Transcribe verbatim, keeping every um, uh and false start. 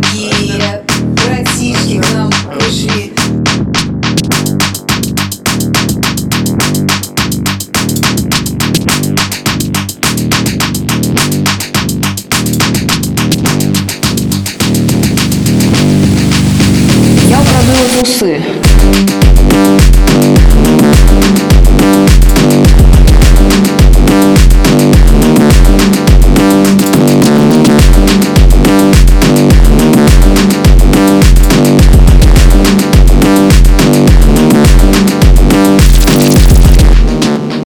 Дорогие братишки к нам пришли. Я украду усы.